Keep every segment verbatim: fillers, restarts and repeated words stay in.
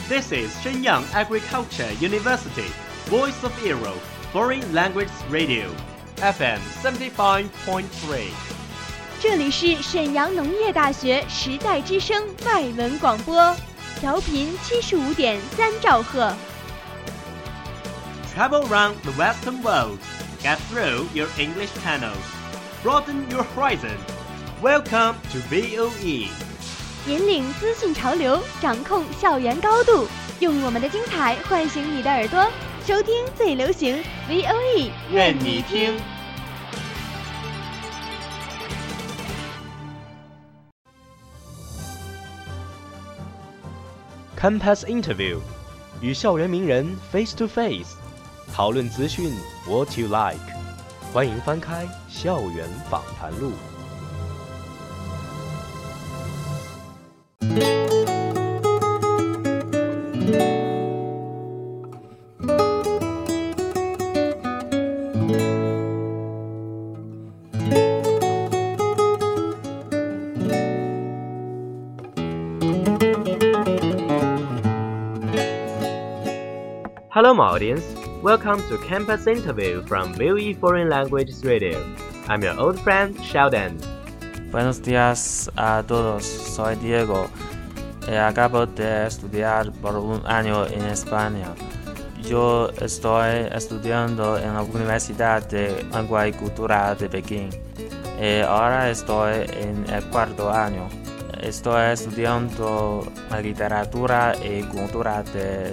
This is Shenyang Agriculture University, Voice of Europe, Foreign Language Radio, F M seventy-five point three。 这里是沈阳农业大学时代之声外文广播，调频七十五点三兆赫。 Travel around the Western world, get through your English channels, broaden your horizon. Welcome to V O E。 引领资讯潮流，掌控校园高度，用我们的精彩唤醒你的耳朵，收听最流行 V O E， 愿你听。Campus Interview， 与校园名人 face to face， 讨论资讯 what you like。欢迎翻开校园访谈录。Hello, my audience. Welcome to Campus Interview from V O E Foreign Languages Radio. I'm your old friend, Sheldon. Buenos días a todos. Soy Diego. Acabo de estudiar por un año en España. Yo estoy estudiando en la Universidad de Lengua y Cultura de Pekín. Y ahora estoy en el cuarto año. Estoy estudiando la literatura y cultura de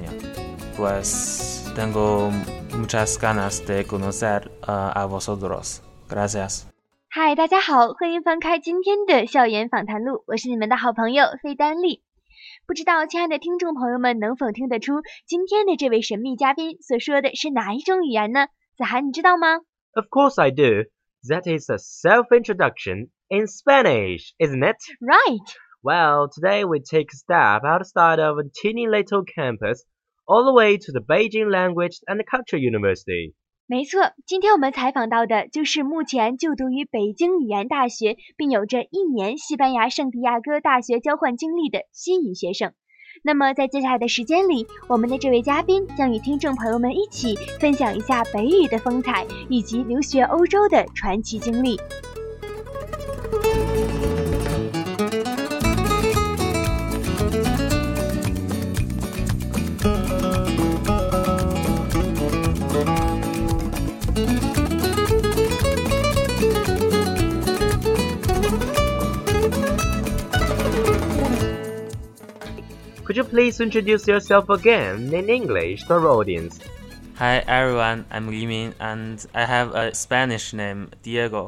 España.Pues tengo muchas ganas de conocer uh, a vosotros. Gracias. 嗨，大家好，欢迎翻开今天的校园访谈录，我是你们的好朋友费丹丽。不知道亲爱的听众朋友们能否听得出今天的这位神秘嘉宾所说的是哪一种语言呢？子涵，你知道吗？ Of course I do. That is a self-introduction in Spanish, isn't it? Right. Well, today we take a step outside of a teeny little campus.All the way to the Beijing Language and Culture University. 没错，今天我们采访到的就是目前就读于北京语言大学，并有着一年西班牙圣地亚哥大学交换经历的西语学生。那么在接下来的时间里，我们的这位嘉宾将与听众朋友们一起分享一下北语的风采，以及留学欧洲的传奇经历。 Could you please introduce yourself again in English to our audience? Hi everyone, I'm Yimin and I have a Spanish name, Diego.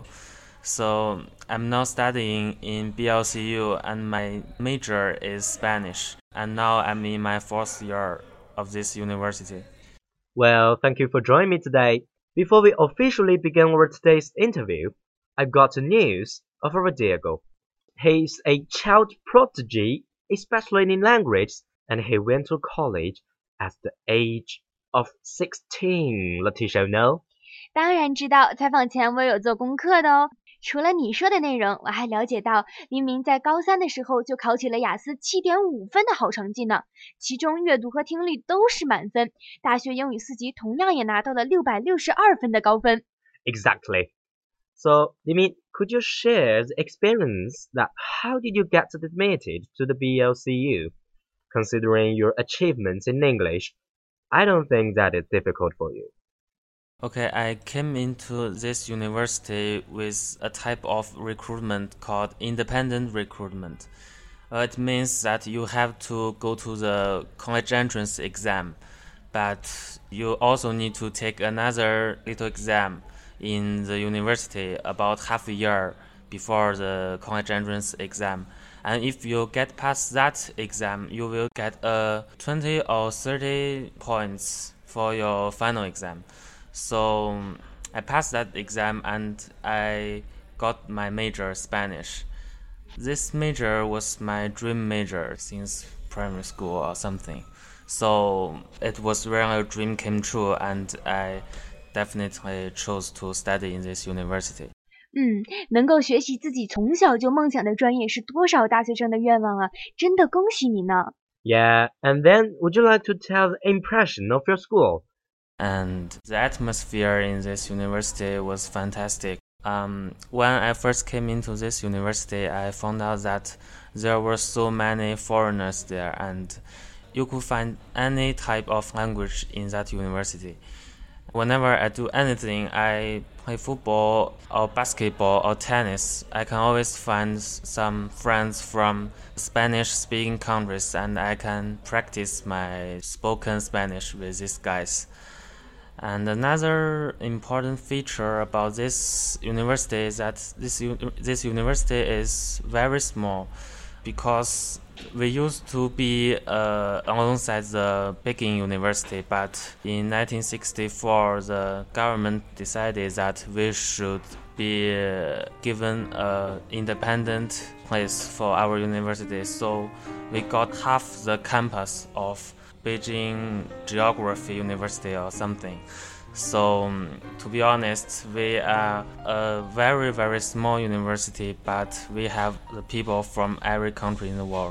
So I'm now studying in B L C U and my major is Spanish. And now I'm in my fourth year of this university. Well, thank you for joining me today. Before we officially begin our today's interview, I've got the news of our Diego. He's a child prodigy,especially in language, and he went to college at the age of sixteen. Letitia, no? 当然知道，采访前我有做功课的哦。除了你说的内容，我还了解到黎明在高三的时候就考起了雅思 七点五 分的好成绩呢，其中阅读和听力都是满分，大学英语四级同样也拿到了六百六十二分的高分。 Exactly. So, Limin, could you share the experience that how did you get admitted to the B L C U? Considering your achievements in English, I don't think that is difficult for you. Okay, I came into this university with a type of recruitment called independent recruitment. Uh, it means that you have to go to the college entrance exam, but you also need to take another little exam.in the university about half a year before the college entrance exam. And if you get past that exam, you will get a twenty or thirty points for your final exam. So I passed that exam and I got my major, Spanish. This major was my dream major since primary school or something. So it was really a dream came true and I...definitely chose to study in this university. 嗯，能够学习自己从小就梦想的专业是多少大学生的愿望啊！真的恭喜你呢。 Yeah, and then would you like to tell the impression of your school? And the atmosphere in this university was fantastic. Um, when I first came into this university, I found out that there were so many foreigners there, and you could find any type of language in that university. Whenever I do anything, I play football or basketball or tennis, I can always find some friends from Spanish-speaking countries, and I can practice my spoken Spanish with these guys. And another important feature about this university is that this this university is very small, because we used to be uh, alongside the Peking University, but in nineteen sixty-four the government decided that we should be uh, given an independent place for our university, so we got half the campus of Beijing Geography University or something. So, um, to be honest, we are a very, very small university, but we have the people from every country in the world.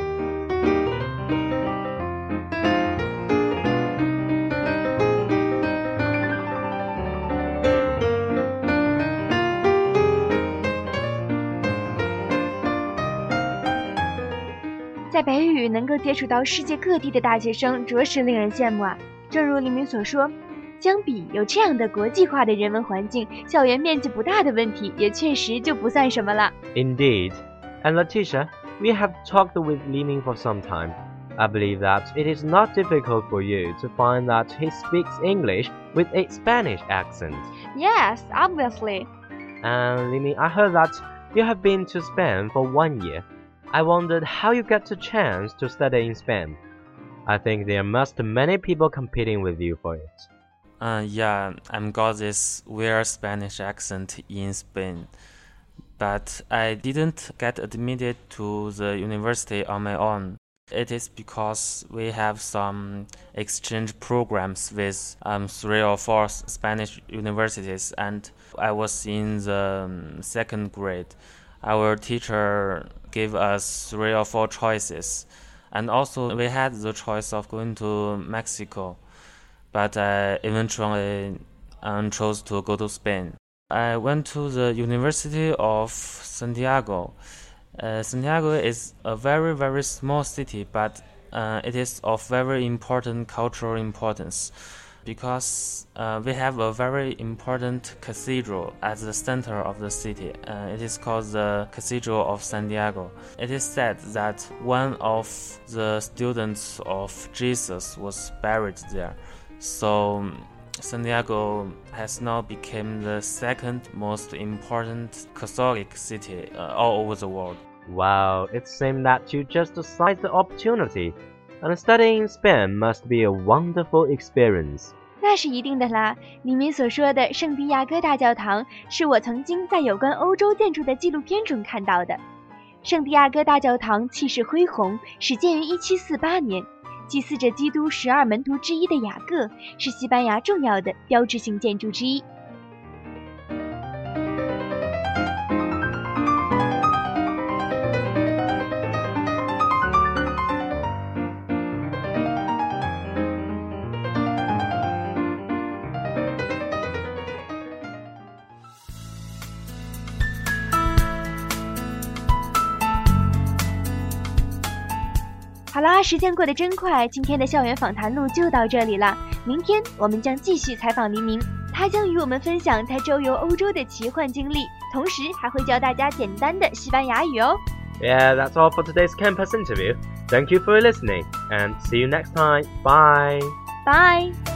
在北语能够接触到世界各地的大学生，着实令人羡慕啊！正如黎明所说，相比有这样的国际化的人文环境，校园面积不大的问题也确实就不算什么了。 Indeed. And Letitia, we have talked with Li Ming for some time. I believe that it is not difficult for you to find that he speaks English with a Spanish accent. Yes, obviously. And Li Ming, I heard that you have been to Spain for one year. I wondered how you get the chance to study in Spain. I think there must be many people competing with you for it. Uh, yeah, I've got this weird Spanish accent in Spain, but I didn't get admitted to the university on my own. It is because we have some exchange programs with um, three or four Spanish universities, and I was in the um, second grade. Our teacher gave us three or four choices, and also we had the choice of going to Mexico, but I eventually um, chose to go to Spain. I went to the University of Santiago. Uh, Santiago is a very, very small city, but uh, it is of very important cultural importance, because uh, we have a very important cathedral at the center of the city. Uh, it is called the Cathedral of Santiago. It is said that one of the students of Jesus was buried there. So Santiago has now become the second most important Catholic city uh, all over the world. Wow, it seems that you just seized the opportunity, and studying in Spain must be a wonderful experience. 那是一定的啦。李明所说的圣地亚哥大教堂是我曾经在有关欧洲建筑的纪录片中看到的。圣地亚哥大教堂气势恢宏，始建于一七四八年，祭祀着基督十二门徒之一的雅各，是西班牙重要的标志性建筑之一。好啦，时间过得真快，今天的校园访谈录就到这里了。明天我们将继续采访黎明，他将与我们分享他周游欧洲的奇幻经历，同时还会教大家简单的西班牙语哦。 Yeah, that's all for today's campus interview. Thank you for listening, and see you next time. Bye. Bye.